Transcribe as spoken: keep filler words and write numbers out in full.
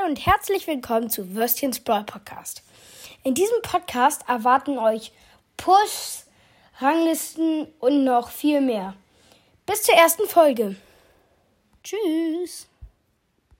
Hi und herzlich willkommen zu Würstchens Brawl Podcast. In diesem Podcast erwarten euch Push, Ranglisten und noch viel mehr. Bis zur ersten Folge. Tschüss.